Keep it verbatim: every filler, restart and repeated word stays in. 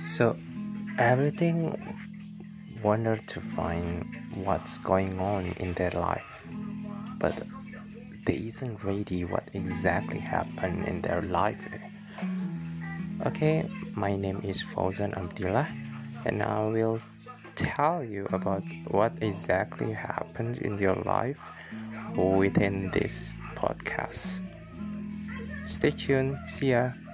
So everything wonder to find what's going on in their life, but they isn't ready what exactly happened in their life. Okay, my name is Fauzan Abdillah, and I will tell you about what exactly happened in your life within this podcast. Stay tuned. See ya.